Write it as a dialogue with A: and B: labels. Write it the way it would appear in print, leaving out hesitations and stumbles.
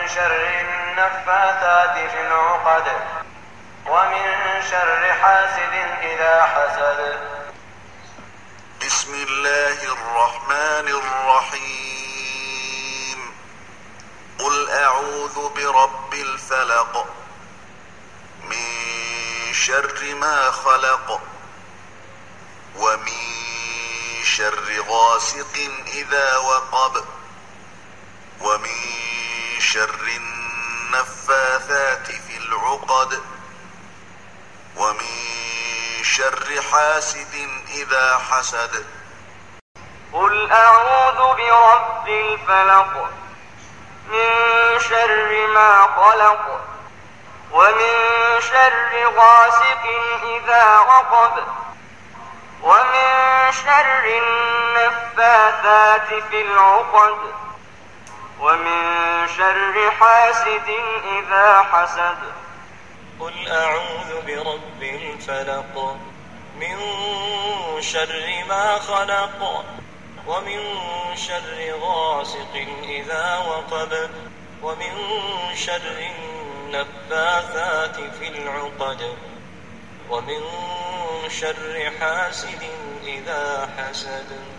A: شر النفاثات في العقد ومن شر حاسد إذا حسد.
B: بسم الله الرحمن الرحيم. قل أعوذ برب الفلق من شر ما خلق ومن شر غاسق إذا وقب ومن شر النفاثات في العقد ومن شر حاسد إذا حسد.
A: قل أعوذ برب الفلق من شر ما خلق ومن شر غاسق إذا وقب ومن شر النفاثات في العقد ومن شر حاسد إذا حسد.
C: قل أعوذ برب الفلق من شر ما خلق ومن شر غاسق إذا وقب ومن شر النفاثات في العقد ومن شر حاسد إذا حسد.